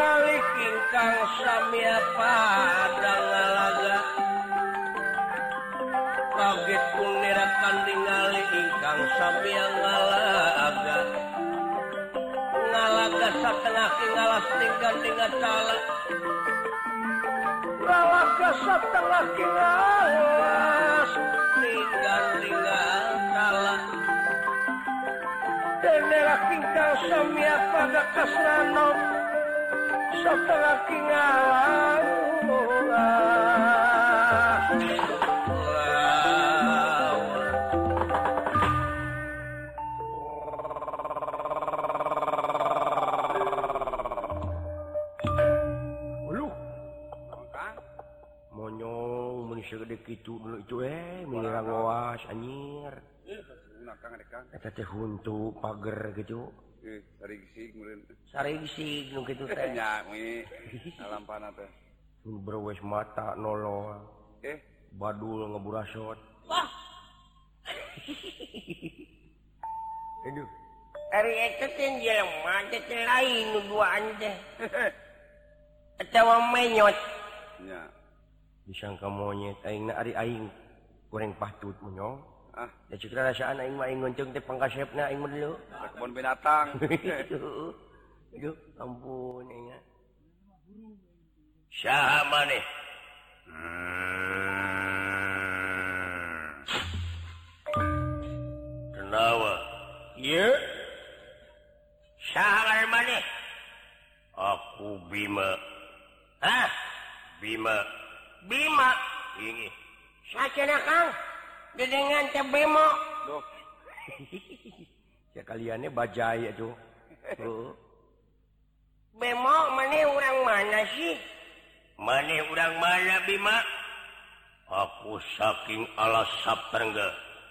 ningali ingkang sami padang ngalaga kaget kunirakan ningali ingkang sami ngalaga satengah ngalas tinggal cala ngalaga satengah ngalas tinggal cala denera ingkang sami pada kasrano satengah ngalas segede kitu dulu itu mirang ngawas anyir eta teh huntu pager gitu sarigsig nu kitu teh nya mi alampana teh berwes mata nolol badul ngeburasot wah aduh ari eta teh jelema teh lain nu duaan teh eta menyot nya disangka monyet aing ari aing goreng patut monyong da cik rasaan aing mah aing ngonceng teh pangkasepna aing mah dulu kebun binatang aduh ampun aing saha maneh kenawa ieu saha maneh aku Bima hah Bima ini sacenah Kang dedengan teh bemo duh sekaliannya bajai atuh bemo maneh urang mana sih maneh urang mana Bima aku saking alas Saptarengga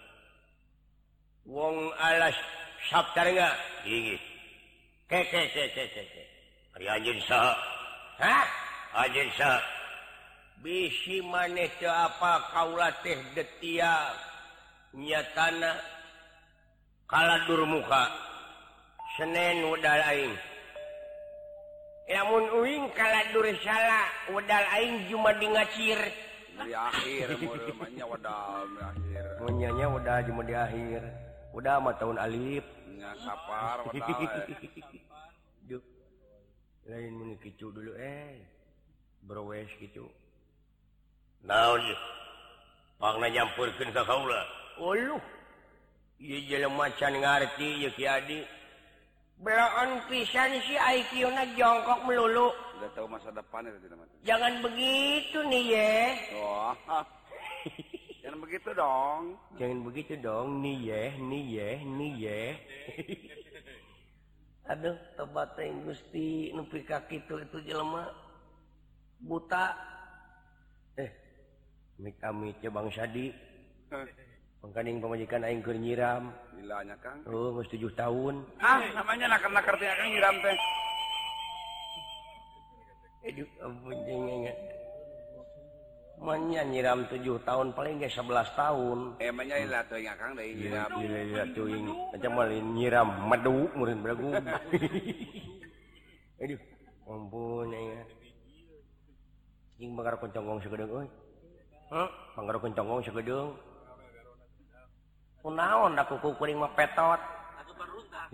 wong alas Saptarengga ini ke ari anjeun saha hah anjeun saha bisi maneh teu apa kaula teh detia nyatana kaladur muka Senen wedal aing lamun uing kaladur salah wedal aing cuma di ngacir di akhir mulanya wadal di akhir munyanya udah cuma di akhir udah mah tahun alif nya sapar wadal duh lain mun kicu dulu browes gitu naon ieu pangna nyampurkeun ka kaula uluh ieu jelema can ngarti ieu Ki Adi belaan pisan si IQ-na jongkok melulu udah tahu masa depan itu tidak jangan begitu nih ye wah jangan begitu dong jangan begitu dong nih ye aduh tobat teuing Gusti nu pika kitu itu jelema buta Mik-amit ya Bang Sadi pangkaning pamajikan aing keur nyiram gilanya Kang geus 7 tahun namanya nakar-nakar teh Kang nyiram teh aduh ampun jengengan manya nyiram 7 tahun paling ge 11 tahun emangnya ilah teuing Kang deui nyiram gila teuing macam malin nyiram madu meureun belagu aduh ampun ya jeung bakar koncongong sagedeung euy Panggaro kencongong sagedeung. Kunaon da kuku kuring mah petot. Atuh baruntah.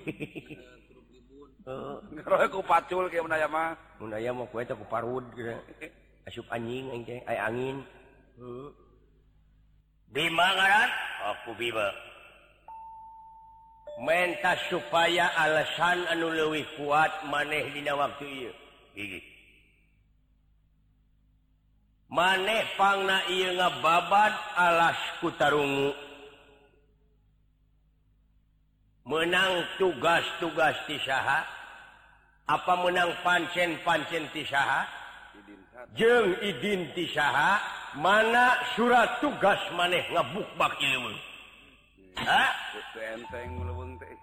Heeh. Ku pacul ke mun aya mah. Mun aya mah ku eta ku parud gitu. Asup anjing aing teh, aya angin. Bima ngaran? Aku Bima. Menta supaya alasan anu leuwih kuat maneh dina waktu ieu. Hiji. Maneh pangna ieu ngababad alas ku tarungu. Menang tugas-tugas ti saha? Apa menang pancen-pancen ti saha? Jeung idin ti saha? Mana surat tugas maneh ngabukbak ilmu? Hah? Teu enteng leuweung teh.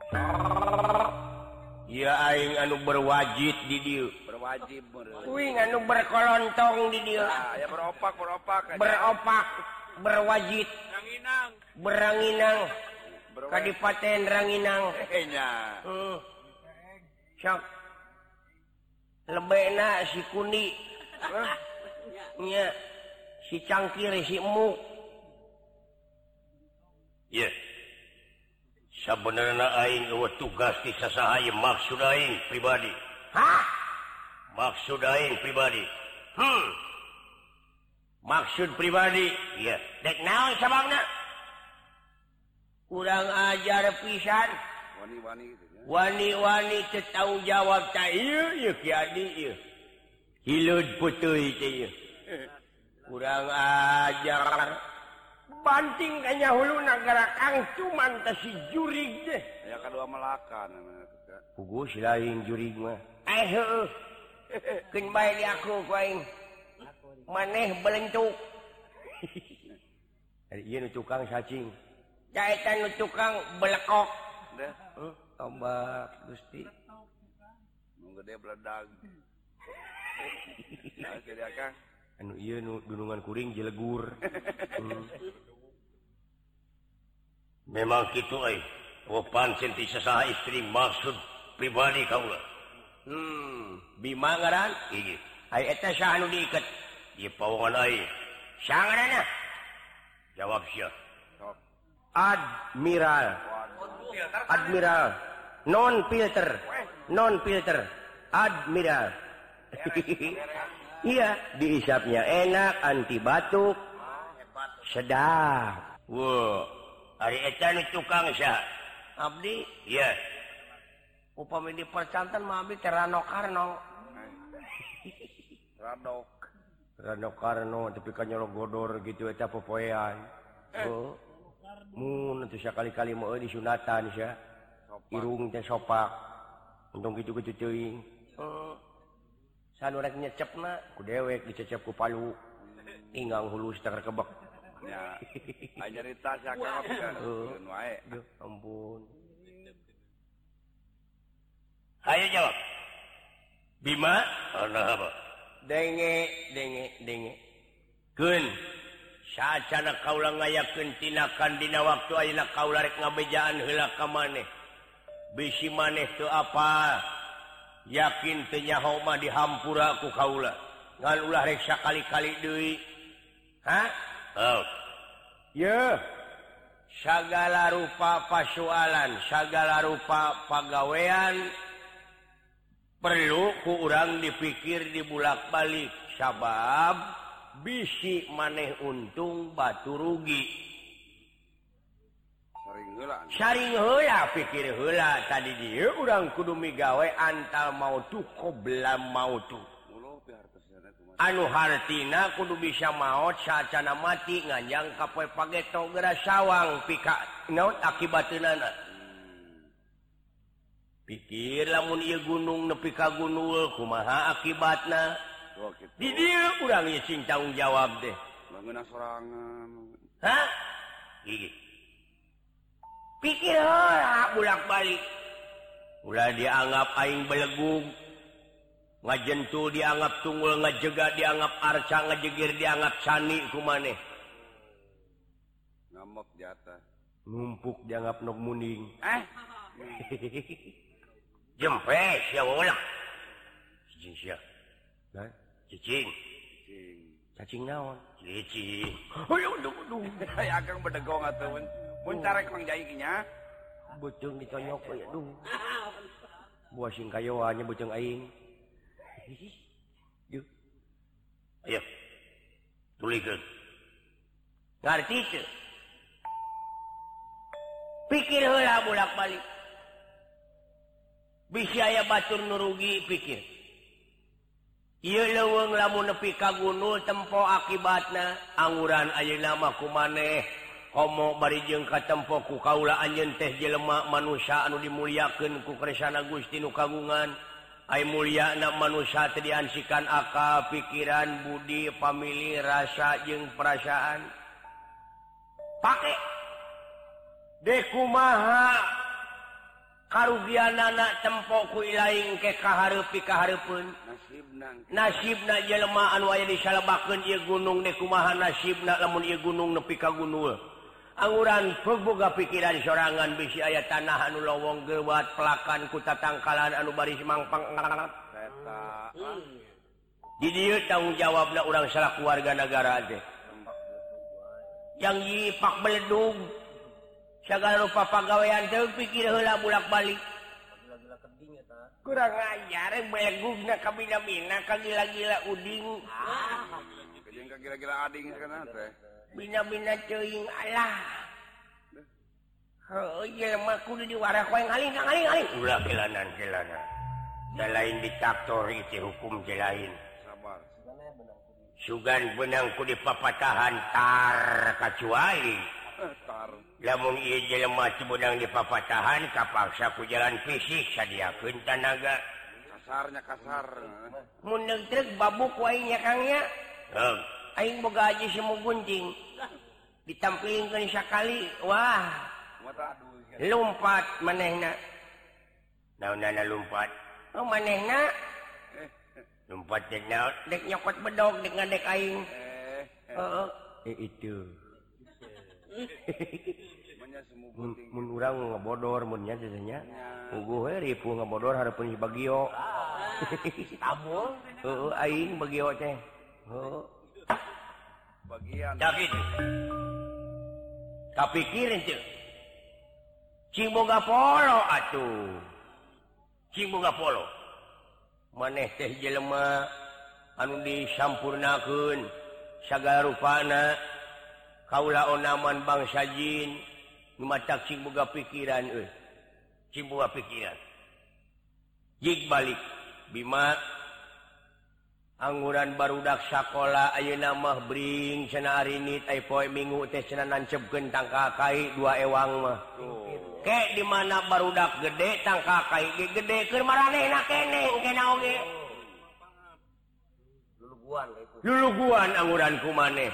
Ieu aing anu berwajib di dieu. Berwajib meureun. Uing anu berkolontong di dieu. Ya beropak. Beropak, berwajib. Ranginang. Beranginang. Kadipaten Ranginang. Nya. Sok. lebena si kuning nya si cangkir si emuk ya sabenerna aing eueuh tugas ti sasaha maksud aing pribadi maksud aing pribadi maksud pribadi iya dek naon sababna kurang ajar pisan wani-wani gitu ya. Wani-wani tanggung jawab teh ieu Ki Adi ieu. Hileud puteuy teh ieu. Kurang ajar. Banting ka nya huluna gara Kang cuman teh si jurig teh. Ya kadua melakan puguh si lain jurig mah. Heueuh. Keun bae di aku ku aing. Maneh belentuk. Ieu nu tukang cacing. Caeta nu tukang belekok. Tombak Gusti nu gede bledag nah jadi Kang anu ieu nu gunungan kuring jelegur memang kitu euy pancen ti sasaha istri maksud pribadi kaula Bima ngaran ieu ai eta saha nu diiket ieu pawongan aing saha ngaranna jawab sia Admiral non filter Admiral iya diisapnya enak anti batuk sedap wow ari eta nu tukang sia abdi iya upami di percantan mah abdi teh Rano Karno Rano Karno tapi kan nyolok godor gitu eta popoean mun atuh sakali-kali mah di sunatan sia irung teh sopak untung kitu-kitu teuing sanu rek nyecepna ku dewek dicecep ku palu tinggang hulus teh kebek ya aya nyarita sia Kang keun wae ampun hayu jawab Bima ana apa denge keun sacana kaula ngayakeun tinakan dina waktu ayeuna kaula rek ngabejaan heula ka maneh bisi maneh teu apa yakin teu nyaho mah dihampura ku kaula ngan ulah rek sakali-kali deui ya sagala rupa pasualan sagala rupa pagawean perlu ku urang dipikir dibulak-balik sabab bisi maneh untung batu rugi saring heula pikir heula tadi dieu urang kudu migawe antal mautu qobla mautu anu hartina kudu bisa maot saacana mati nganjang ka poe pageto geura sawang pika naon akibateunana pikir lamun ieu gunung nepi ka gunul kumaha akibatna di dieu urang ieu sing tanggung jawab deh bangeuna sorangan gigi pikir heula bulak-balik ulah dianggap aing belegug ngajentul dianggap tunggul ngajega dianggap arca ngajegir dianggap cani ku maneh ngamok jatah numpuk dianggap nok muning jempes ya ulah cicing sia cacing naon cicing aduh aya Kang bedegong atuh mun carek Mang Jai nya beuteung ditonyok we aduh buah sing kayoanya beuteung aing ayo tulikeun ngarti teu pikir heula bolak-balik bisi aya batur nu rugi pikir ieu leuweung lamun nepi ka gunul tempo akibatna anguran ayeuna mah kumaneh komo bari jeung ka tempo ku kaula anjeun teh jelema manusia anu dimulyakeun ku kersana Gusti nu kagungan ai mulyana manusia teh diansikan akal pikiran budi famili rasa jeung perasaan pake deuk kumaha karugianana tempo ku ilaing ke kahareupi kahareupeun nasibna jelema anu aya disalebakeun ieu gunung deuk kumaha nasibna lamun ieu gunung nepi ka gunul anguran boga pikiran sorangan bisi aya tanah anu lowong gewat pelakan ku tatangkalan anu bari mangpang di dieu tanggung jawabna urang salah keluarga negara teh yang yipak beledug sagala rupa pagawean teh pikir heula bulak-balik kurang ajar belegugna ka bina-bina ka gila-gila uding jeung ka gila-gila ading kana teh bina-bina teuing alah heuh jelema kudu diwarak wae ngaling ulah kelanan da lain diktator itu hukum teh lain sabar sugan benang ku dipapatahan tar kacuali tar lamun ieu jelema benang dipapatahan kapaksa ku jalan fisik sadiakeun tanaga kasar mun neutrek babuk wae nya kangnya aing boga aji semu gunting ditampilkeun sakali wah lumpat manehna naonna lumpat manehna lumpat dek nyokot bedog dek ngadek aing itu mun urang ngebodor mun nya cenah puguh we ripu ngebodor hareupeun si Bagio tabul aing Bagio teh bagian David kapikirin teu cing boga polo atuh cing boga polo maneh teh jelema anu disampurnakeun sagala rupana kaula onaman bangsa jin nu matak cing boga pikiran cing boga pikiran jig balik Bima angguran barudak sakola ayeuna mah bring cenah arinit ai poe minggu teh cenah nancepkeun tangka kai 2 ewang mah ke di mana barudak gede tangka kai gede keur maranehna keneh oge luluguan angguran kumaneh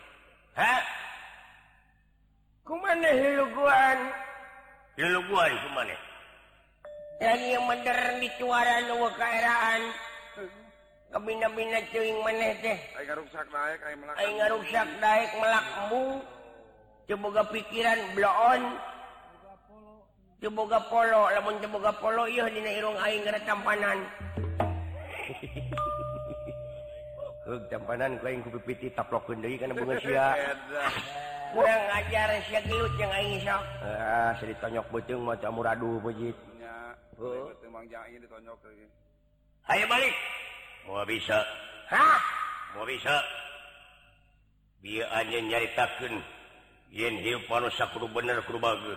kumaneh luluguan kumaneh yang modern di cuaran nu kaeraan kabina-bina ceuing maneh teh aing ngaruksak daek melak embung teu boga pikiran bloon teu boga polo lamun teu boga polo ieu dina irung aing gara tampanan tampanan ku aing ku pipiti taplokkeun deui kana bunga sia kurang ajar sia gelut jeung aing sok sia ditonyok beuteung mah teu amuradu pojit teu mang jai ditonyok lagi hayu balik mau bisa mau bisa bieu anjeun nyaritakeun yen hieup manusia kudu bener kudu bager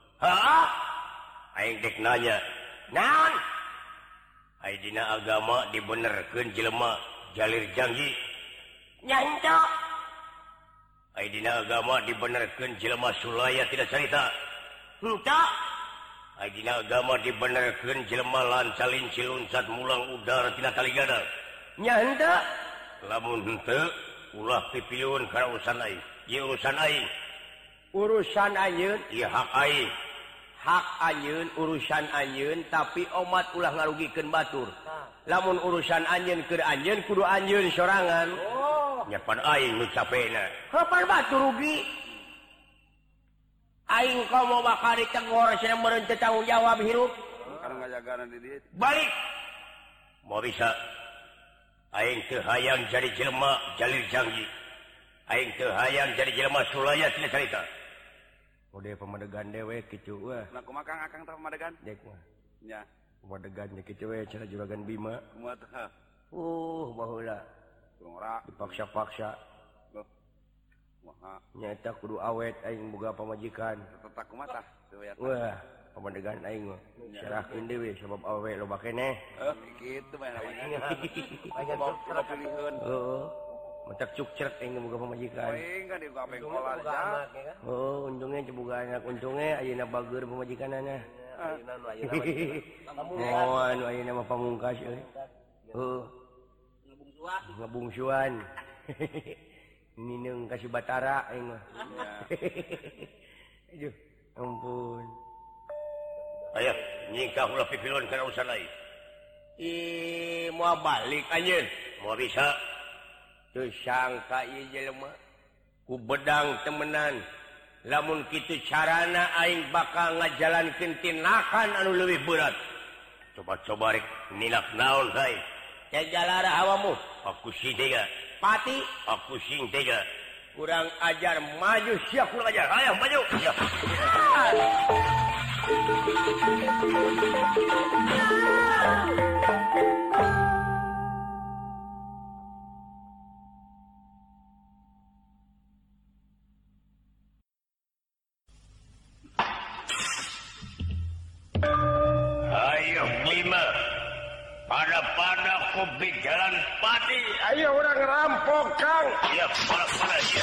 aing dek nanya naon ai dina agama dibenerkeun jelema jalir janji nya henteu ai dina agama dibenerkeun jelema sulaya tidak carita henteu ai dina agama dibenerkeun jelema lancalin ciluncat mulang udara tina taligana nya henteu lamun henteu ulah pipieun kana urusan aing ieu urusan anjeun ieu hak anjeun urusan anjeun tapi omat ulah ngarugikeun batur lamun urusan anjeun keur anjeun kudu anjeun sorangan nya pan aing nu capena kapan batur rugi aing komo bakal ditegor cenah meureun teu tanggung jawab hirup kana ngajagana di dieu balik mau bisa aing teu hayang jadi jelema jalir janji aing teu hayang jadi jelema sulaya tina carita mode pamadegan dewe kitu wah nah kumaha akang teh pamadegan dek mah nya pamadegan nya kitu we cara juragan Bima kumaha teh baheula ngora dipaksa-paksa kumaha nyata kudu awet aing boga pamajikan tetak kumaha tah teu ya wah pamadegan aing mah serahkeun deui sabab awe loba keneh kitu mah namanya aing mau pilihkeun matak cukcrek aing boga pamajikan aing kan di kabeh kola aja untungnya boga anak untungnya ayeuna bager pamajikanana ayeuna mah pamungkas euy ngabungsuan mineng kasih batara aing mah aduh ampun aya nyingkah ulah pipilon kana urusan lain moal balik anjeun moal bisa teu sangka ieu jelema ku bedang temenan lamun kitu carana aing bakal ngajalankeun tindakan anu leuwih berat coba rek nilak naon hai Tegalara awamu. Aku sing tega. Pati, Aku sing tega. kurang ajar maju siap kurang ajar. Ayo maju. Siap. Ayo Bima. Pada kopi jalan Pati. Ayo orang rampok Kang. Ya, pada ya.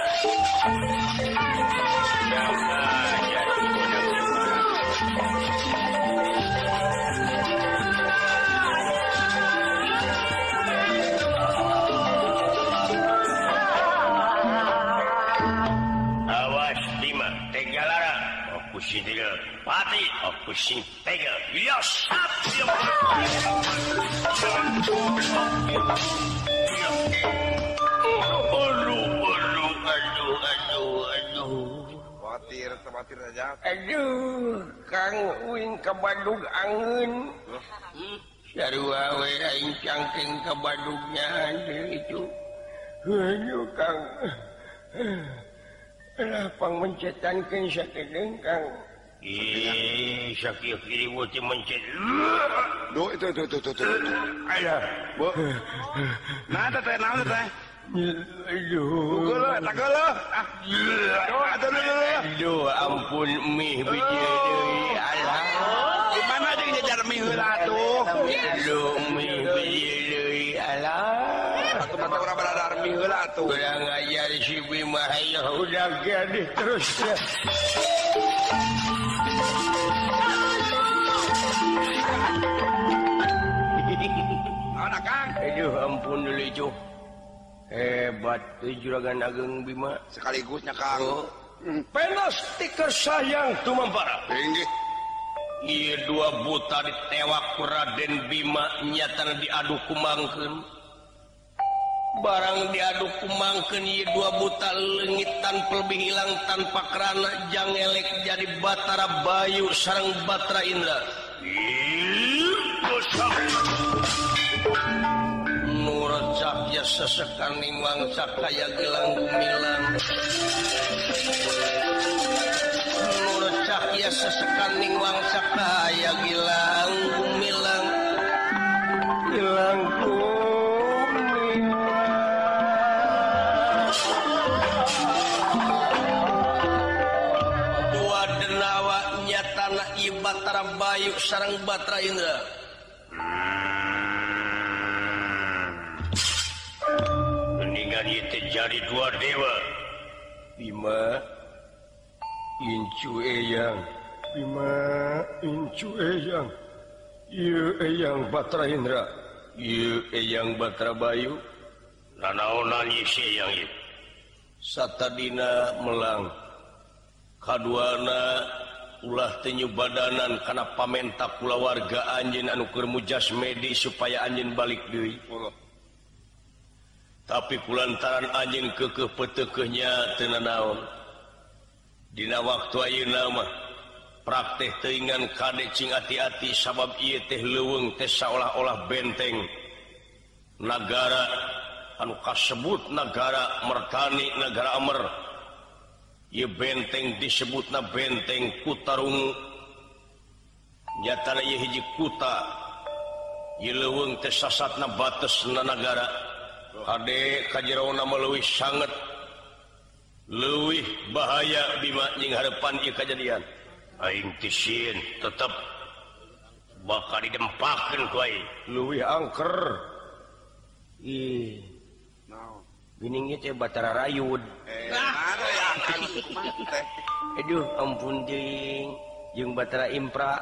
Awas Bima, Tegalara. Aku sing tega. Pati, aku sing tega. Ya, sap. Aduh. Khawatir aja. Aduh, Kang Uing ke Badug angin. Sarua we aing cangking ke Badugnya itu. Aduh, Kang. Lah pangmencetankeun sakedeung, Kang. Sakit kiri wuti mencet. Duh, itu. Ayo. Bu. Nah, teh. Aduh. Tak geuleuh. Aduh, ampun mih biji deui. Alah. Di mana jeung jajar mie heula tuh? Aduh, mih biji deui. Alah. Atuh urang beradar mie heula tuh. Kurang ajar si Bima ya udah gede terus ya. Anak Kang. Aduh, ampun dulu itu. Hebat tuh juragan Ageng Bima. Sekaligusnya Kang. Penas tiker sayang tuh mampara. Inggih. Iya dua buta ditewak Raden Bima nyatana diadu kumangkeun. Barang diadu kumangkeun ieu dua buta leungit tanpa lebih hilang tanpa kerana jangelek jadi Batara Bayu sareng Batara Indra. Nurecak ya sesekan nimang sakaya gelang gumilang. Nurecak ya sesekan nimang sakaya gelang gumilang. Gelang gumilang. Dua denawa nyatana ieu Batara Bayu sareng Batara Indra. Mendingan itu jadi dua dewa. Bima Incu Eyang. Bima Incu Eyang. Ieu Eyang Batara Indra. Ieu Eyang Batara Bayu. Nanaonan isi yang itu. Satadina melang. Kaduana ulah teu nyubadanan kana pamenta kula warga anjeun anu keur mujasmedi supaya anjeun balik deui. Tapi kulantaran anjeun keukeuh peuteukeuhnya teu nanaon. Dina waktu ayeuna mah praktek teuingan kade cing ati-ati sabab ieu teh leuweung teh saolah-olah benteng nagara anu kasebut nagara Mertani, nagara Amer. Ieu benteng disebutna benteng Kutarungu. Nyatana ieu hiji kuta. Ieu leuweung teh sasatna batesna nagara. Kade kajerouna mah leuwih sanget leuwih bahaya Bima jeung hareupan ieu kajadian. Aing tisieun tetep bakal didempakeun ku aing. Leuwih angker. Ih. Geuning ieu teh Batara Rayud. Ada ya Kang. Aduh ampun jeung Batara Impra.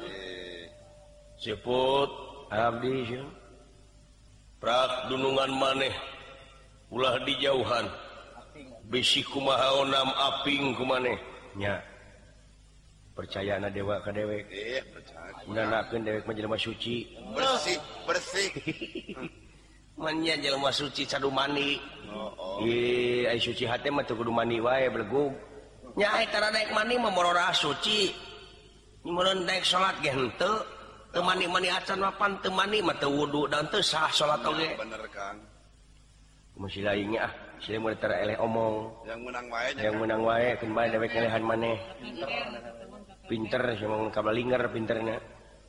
Seput abdi jeung prak dunungan maneh ulah dijauhan. Bisi kumaha onam aping kumaneh nya. Percayana dewa ka dewek. Percaya. Nanakeun dewek mah jelema suci. Bersih. Manya jelema suci cadu mani. Ih, ai suci hate mah teu kudu mani wae belegug. Nya eta naik mani mah morora suci. Mun naik salat ge henteu. temani acan mapan temani mah teu wudu dan teu sah salat oge. Bener Kang. Masih lainnya sila mau tara eleh omong. Yang menang wae keun bae dewek elehan maneh. Pinter sama kabalinger pinterna.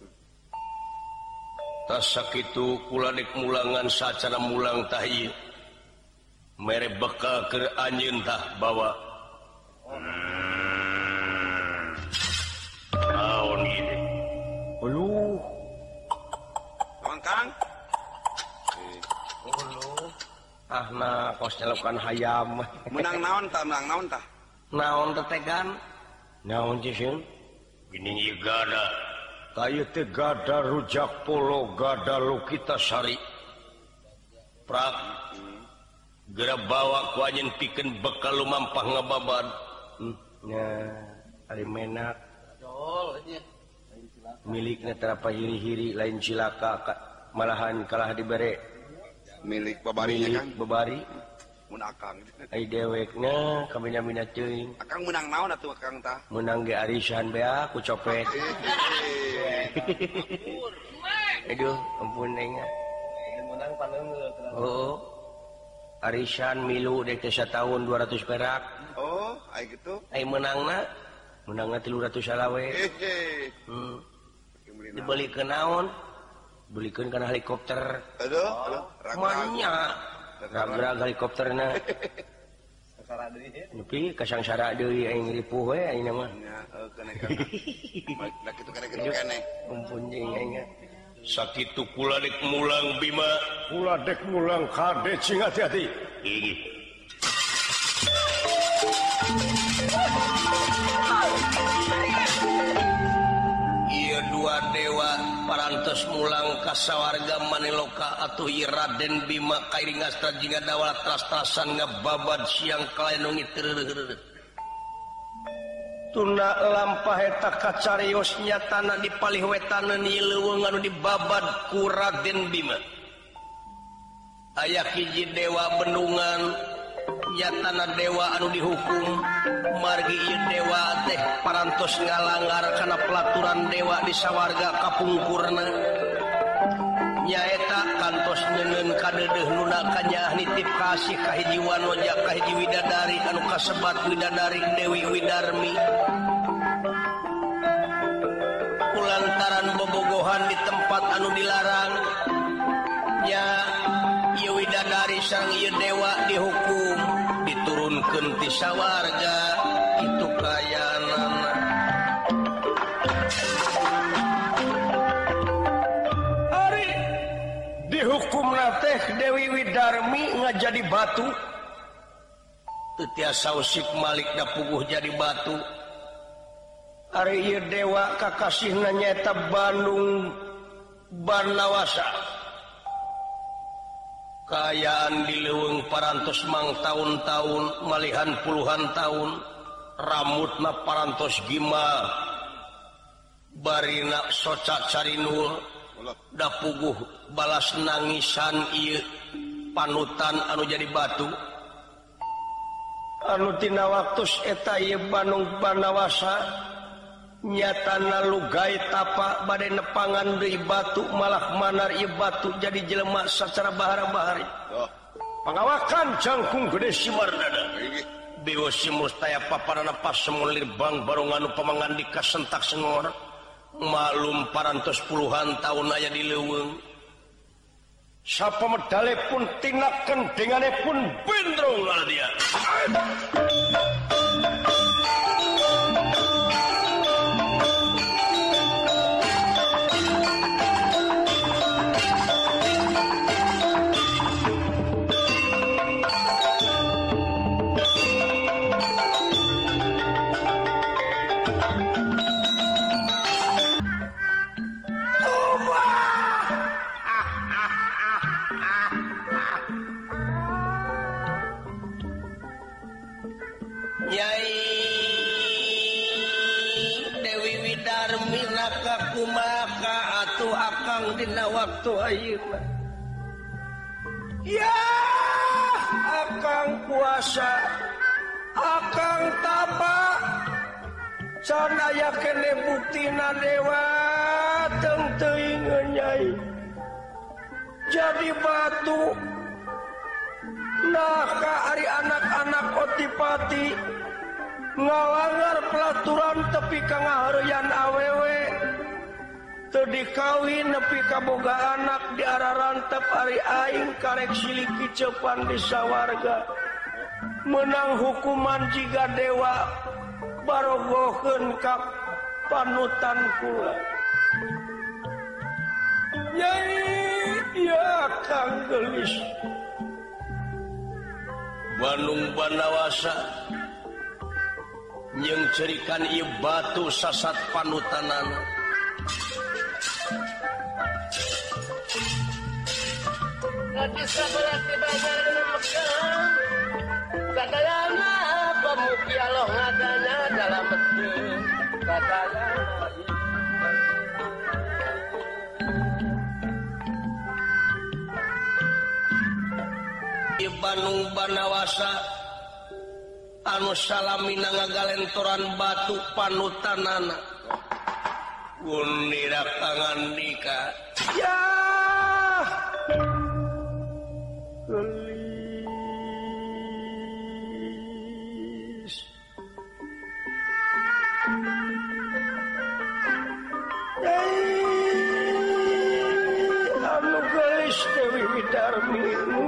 Tas sakitu kula dek mulangan sacara mulang tah ieu. Mere bekal keur anjeun tah bawa. Naon ieu? Aduh. Naon Kang? Nah kos nyelokan hayam. Menang naon tah? Naon tetegan? Naon ciseun? Gini ieu gada. Kayu teh gada rujak polo gada Lukita Sari. Prak. Geura bawa ku anjeun pikeun bekal lumampah ngababad. Ari menak. Milikna terapa hiri-hiri lain cilaka malahan kalah dibere. Milik babarinya Kang. Babari. Mun Akang. Ai dewekna kamina-mina teuing. Akang menang naon atuh Akang tah? Menang ge arisan bea ku copet. Aduh, ampun aing. Menang paneungeul. Oh. Arisan milu dek teh sataun 200 perak. Oh, ai kitu. Ai menangna 300 salawe. Dibelikeun naon? Belikeun kana helikopter. Aduh, Manya. Ragrag helikopterna. Sangsara deui. Nepi ka sangsara deui aing ripuh we aing mah. Nya, kene Kang. Da kitu kene. Ampun jeung aing. Sakitu kula dek mulang Bima. Kula dek mulang kade cing hati-hati. Ih. Ieu dua dewa parantos mulang ka sawarga Maniloka atuh ieu Raden Bima kairingasna jingga dawala tras-trasan ngababad siang kalaenu ngiteureureureureuh. Tuna lampah eta kacarios nyatana di palih wetaneun ieu leuweung anu dibabad ku Raden Bima. Aya hiji dewa bendungan nyatana dewa anu dihukum margi ieu dewa teh parantos ngalanggar kana pelaturan dewa di sawarga kapungkurna. Nyaeta kantos nyeungeun kadeudeuhnuna kanyah nitip kasih ka hiji wanoja ka hiji widadari anu kasebat widadari Dewi Widarmi. Kulantaran bobogohan di tempat anu dilarang nya ieu widadari sareng ieu dewa dihukum diturunkeun ti sawarga kitu kayanana. Dihukumna teh Dewi Widarmi ngajadi batu. Teu tiasa usik malik da puguh jadi batu. Ari ieu dewa kakasihna nyaeta Bandung Barnawasa. Kaayaan di leuweung parantos mang taun-taun malihan puluhan taun. Rambutna parantos gima. Barina soca carinul. Da puguh balas nangisan ieu panutan anu jadi batu. Anu tina waktos eta ieu Bandung Barnawasa nyatana lugay tapa bade nepangan deui batu malah manar ieu batu jadi jelema sacara bahara-bahari. Pangawakan jangkung gede si Mardana. Bewa si mustaya paparana pas semulir bang barongan anu pamangandika sentak sengor. Malum parantos puluhan tahun aya di leuweung. Sapa medale pun tinakeun dengane pun bendrong ala dia. Nyai Dewi Widarmi naka kumaka atuh akang dina waktu ayeuna. Ya, akang kuasa, akang tapa, can aya kene buktina dewa datang teuing Nyai jadi batu nah ka ari anak-anak Otipati ngalanggar pelaturan tepi ka ngahareuyan awewe teu dikawin nepi ka boga anak diararantep ari aing karek siliki cepan di sawarga menang hukuman jiga dewa barogoheun ka panutan kula Nyai ya Kang Gelis Bandung Banawasa yang cerikan ieu batu sasat panutanana Lagi sabarat dibayar Mekah Kadayana pemuki Allah ngadana dalam mesin Kadayana di Bandung Banawasa anu salamina ngagalentoran batu panutanana gunira pangandika ya Gelis anu Gelis Dewi Widarmi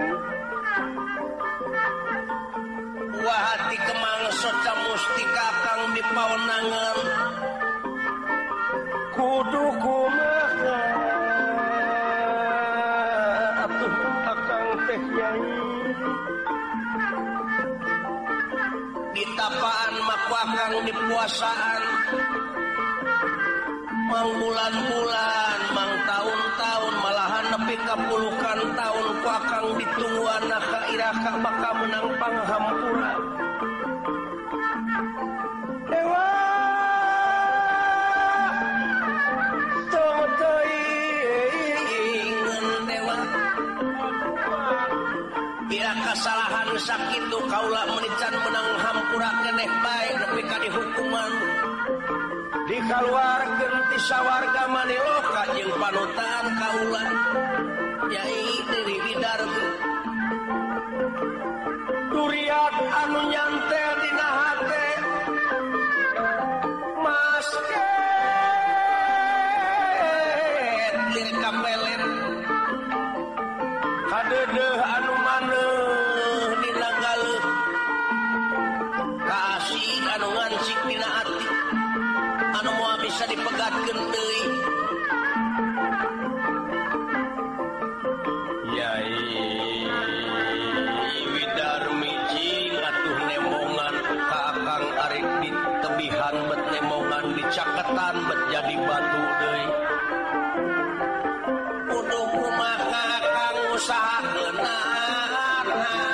wahati kemang soca mustika kang dipawenangan kudu kumaha atuh akang teh Nyai di tapaan maku akang di puasaan mang bulan-bulan mang tahun-tahun malahan nepi ka puluhan tahun ku akang ditungguan ka iraka bakal menang panghampura Dewa ingin dewa ira kasalahan sakitu kaula menican menang hampura keneh bae nepi ka dihukuman dikaluarkeun ti sawarga Maniloka jeung panutan kaula Nyai Dewi Widarmi durian anu nyantel dina hate masket lirik kapelet kadeudeeh anu maneuh dina galeuh kaasih anu ngansik dina ati anu moal bisa dipegatkeun deui Nyai Widarmi jing atuh nemongan ka akang arek ditebihan bet nemongan dicaketan bet jadi batu deui kudu kumaha kang usahakeunana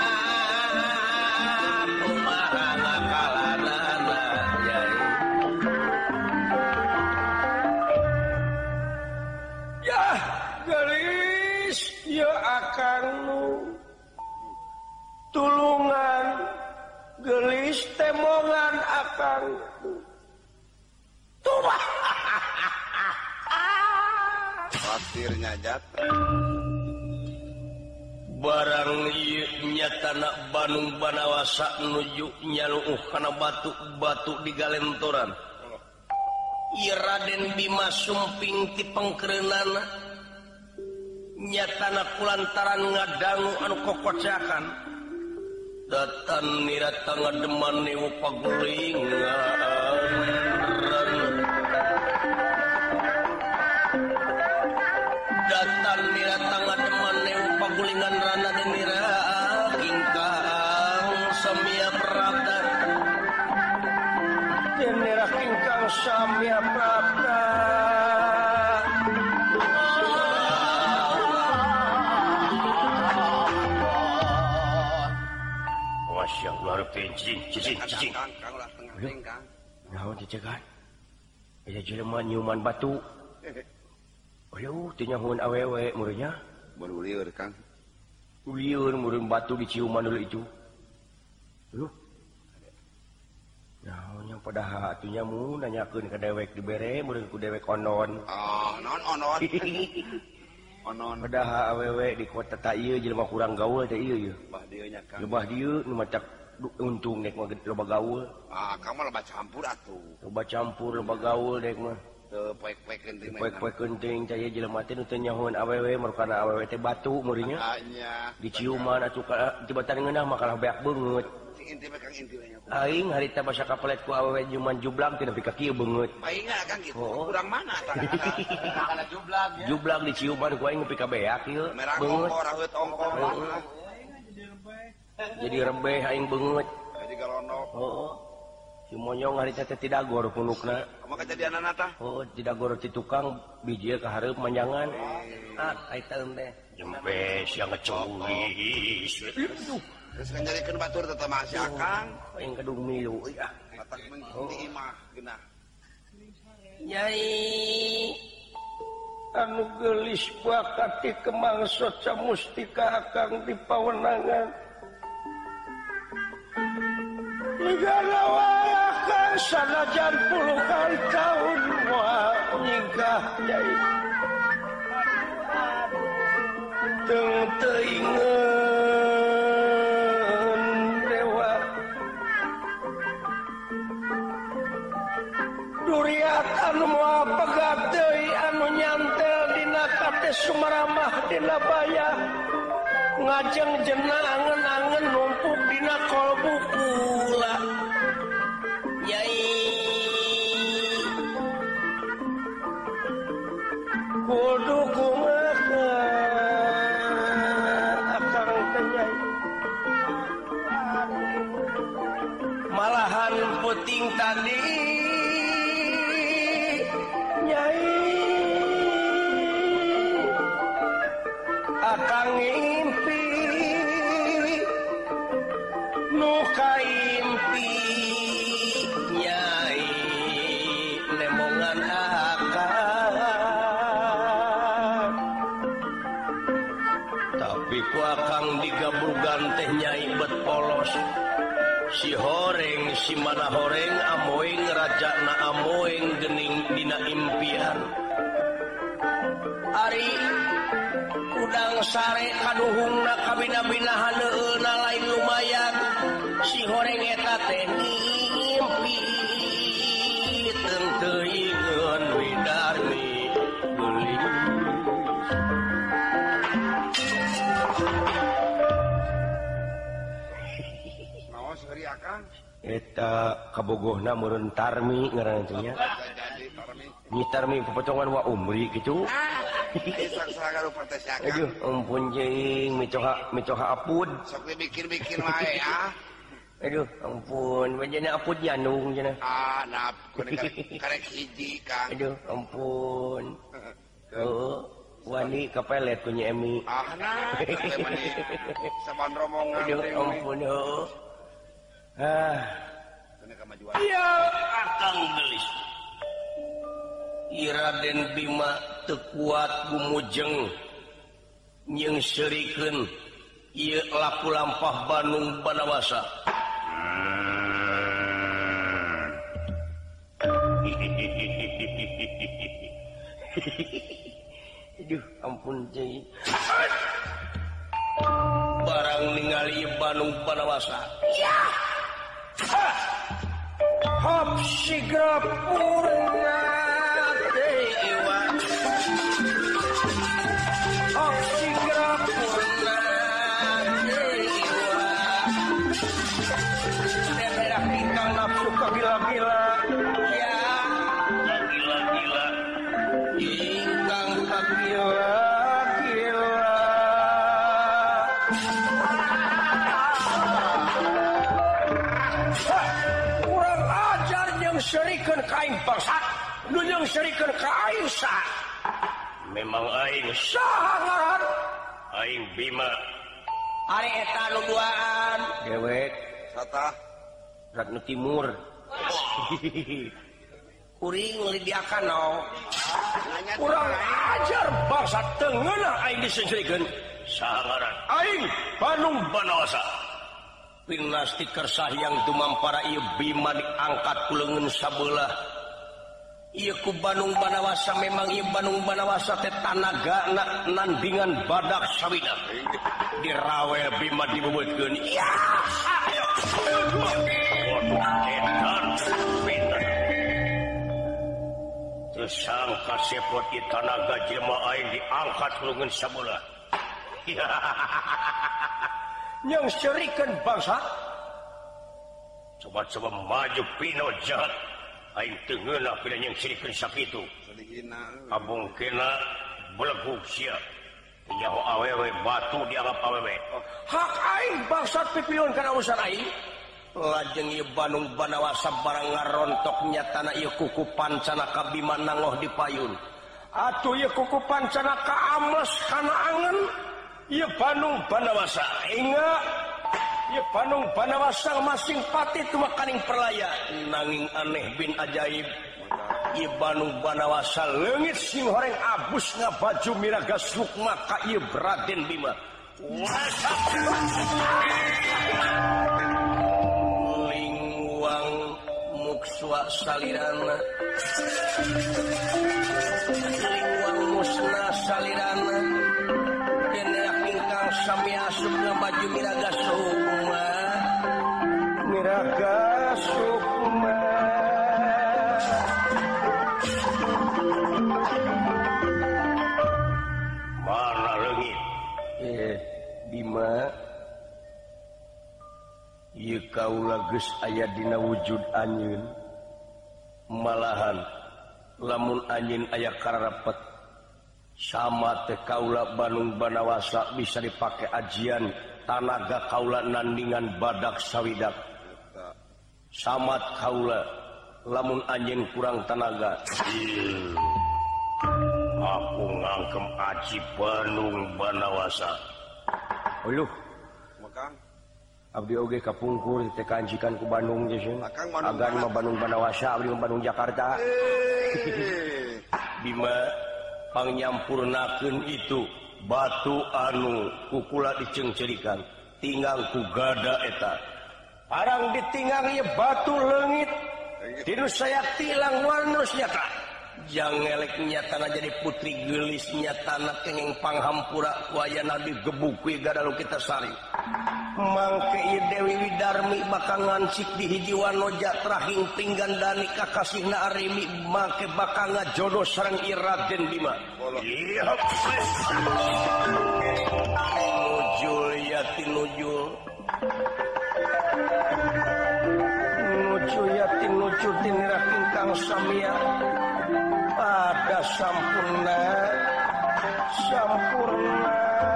kumaha ngakalanana Nyai ya Gelis ya akang nu tulungan Gelis temongan akang tuh khawatirnya jatuh barang ieu nyatana Bandung Banawasa nuju nyaluuh kana batu-batu di galentoran ieu Raden Bima sumping ti pengkeureunana nyatana kulantaran ngadangu anu kokocakan datan nirata ngademan newu pagulingan datan nirata ngademan newu pagulingan rana denira kingkang samia prabda denira kingkang samia prabda Masya Allah, cicing. Kang lah tengah ring Kang. Naon dicegat? Aya jelema nyuman batu. Ayo, teu nyahoan awewe mureunnya. Berulieur Kang. Ulieur mureun batu diciuman dulu itu. Aduh. Naonnya padahal atunya mun nanyakeun ka dewek dibere meureun ku dewek onon. Non onon. Onon. Padahal awewe di kota ta ieu jelema kurang gaul teh ieu. Bah dieu nya Kang. Lebah dieu nu macak untung dek mah loba gaul. Kang mah loba campur atuh. Loba campur loba gaul dek mah. Teu poek-poekeun teh. Poek-poek kenting cai jelema teh nu teu nyahoan awewe marukana awewe teh batu meureunnya. Nya. Diciuman atuh tibatan ngeunah mah kalah beak beungeut. Inti mah Kang inti nya. Aing harita basa kapelet ku awewe juman jublag teh nepi ka kieu beungeut. Aing Kang gitu. Kurang mana kana jublag ya. Jublag diciuman ku aing nepi ka beak ieu. Merah ongko raheut ongko. Jadi rebeh aing beungeut. Jadi galonok. Heeh. Si monyong harita teh tidak gor punukna. Kumaha kejadianana tah? Oh, tidak gor ti tukang biji ka hareup manjangan. Ai taeum teh. Jempes yang ngecowis. Terus kan nyarikeun batur teh teh masih Akang. Aing kadung milu ya. Batak mengti imah geunah. Nyai anu geulis bakat ti kemangsa camustika Akang di pawenangan. Ligana wae Akang sanajan puluhan tahun moal nyingkah Nyai. Teu teuingeun dewa. Duriat anu moal pegat deui anu nyantel dina kate sumaramah dina bayah. Ngajeng jenah angen-angen numpuk dina kolbu kula. Nyai kudu kumaha Akang teh Nyai. Malahan peuting tadi Nyai Akang ngimpi nu kaimpi Nyai lemongan Akang. Tapi ku Akang digabrugan teh Nyai bet polos. Si horeng si mana horeng amoeng rajana amoeng geuning dina impian. Ari udang sare kaduhungna kabina-binahan neueuna lain lumayan. Si horeng eta teh ngimpi teu teuingeun widarmi geulis. Naon seuri Akang? Eta kabogohna meureun Tarmi ngaranna teh nya. Jadi Tarmi. Nyi Tarmi pepotongan wa umri kitu. Sarang-sarang rupa teh si Akang. Aduh, ampun jeung micoha apud. Sok dibikin-bikin wae ya. Aduh, ampun, wajana apud nyandung cenah. Nah, kuning karek hiji Kang. Aduh, ampun. Heeh, wani kapelet ku Nyi Emi. Nah, teh mani saban rombongan Aduh, teh. ampun, heeh. Kuning kamajuan. Ya, Akang gelis. Raden Bima teu kuat gumujeng nyeungsirikeun ieu laku lampah Bandung Banawasa. Aduh, ampun Jai. Barang ningali Bandung Banawasa. Ya. Hop sigra purna dewa. Hop sigra purna dewa. Daerah bintang nafsu kagila-gila. Ya, kagila-gila. Ingkang kagila-gila. Kurang ajar yang serikeun ka aing bangsat, nu yang serikeun ka aing sa. Memang aing saha ngaran? Aing Bima. Ari eta nu duaan. Dewek. Satah. Ratnu Timur. Kuring ngelidiakan no. Kurang ajar bangsa tengenah aing disengserikeun. Saha ngaran? Aing Bandung Banawasa. pinasti kersah yang dumampara ieu Bima diangkat ku leungeun sabelah. Ieu ku Bandung Banawasa memang ieu Bandung Banawasa teh tanagana nandingan badak sawidak. Dirawel Bima dibebeutkeun. Ya. Terus sangka sepot di tanaga jelema aing diangkat ku leungeun sabelah. Yang serikeun bangsa. Coba-coba maju pino jahat. Aing teu ngeunah pina yang serikeun sakitu. Abungkeuna belegug sia. Nyaho awewe batu dianggap awewe. Hak aing bangsat pipilun kana urusan aing. Lajeng ieu Bandung Banawasa barang ngarontok nyatana ieu kuku pancana ka Bima nangoh di payun. Atuh ieu kuku pancana ka ames kana angen. Ieu Bandung Banawasa ingat ieu Bandung Banawasa masing pati tu makaning perlaya nanging aneh bin ajaib ieu Bandung Banawasa leungit sing horeng abus ngabaju miraga sukma ka ieu Raden Bima. Lingwang mukswa salirana lingwang musna salirana sami asup ngabaju miraga sukma mana leungit Bima ieu kaula geus aya dina wujud anjeun malahan lamun anjeun aya kararepet sama teh kaula Bandung Banawasa bisa dipake ajian tanaga kaula nandingan badak sawidak. Samat kaula lamun anjeun kurang tanaga. Aku ngangkem aji Bandung Banawasa. Uluh. Makang. Abdi oge kapungkur teh kanjikan ku Bandung geus. Agan mah Bandung Banawasa, abdi mah Bandung Jakarta. Bima pangnyampurnakeun itu batu anu kukula dicengcerikan tinggal ku gada eta parang ditinggal ieu batu leungit tinu saya tilang warnos nyata jangelek nyatana jadi putri geulis nyatana kenging panghampura ku ayana digebuk ku gadalu kita sari mangke ieu Dewi Widarmi bakal ngancik di hiji wanoja trahing pinggandani kakasihna Arimi mangke bakal ngajodoh sareng ieu Raden Bima. Nujul ya tinujul. Nujul ya tinujul tinira kingkang samia. Pada sampurna. Sampurna.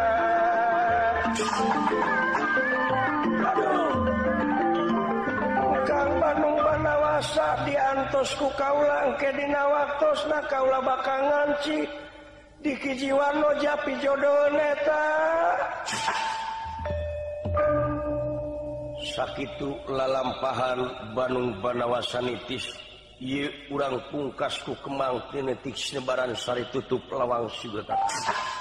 Kang Bandung Banawasa diantos ku kaula engke dina waktosna kaula bakal ngancik di kijiwano japi jodoh neta sakitu lalampahan Bandung Banawasa nitis ieu urang pungkas ku kemang kinetik sebaran sari tutup lawang sugata.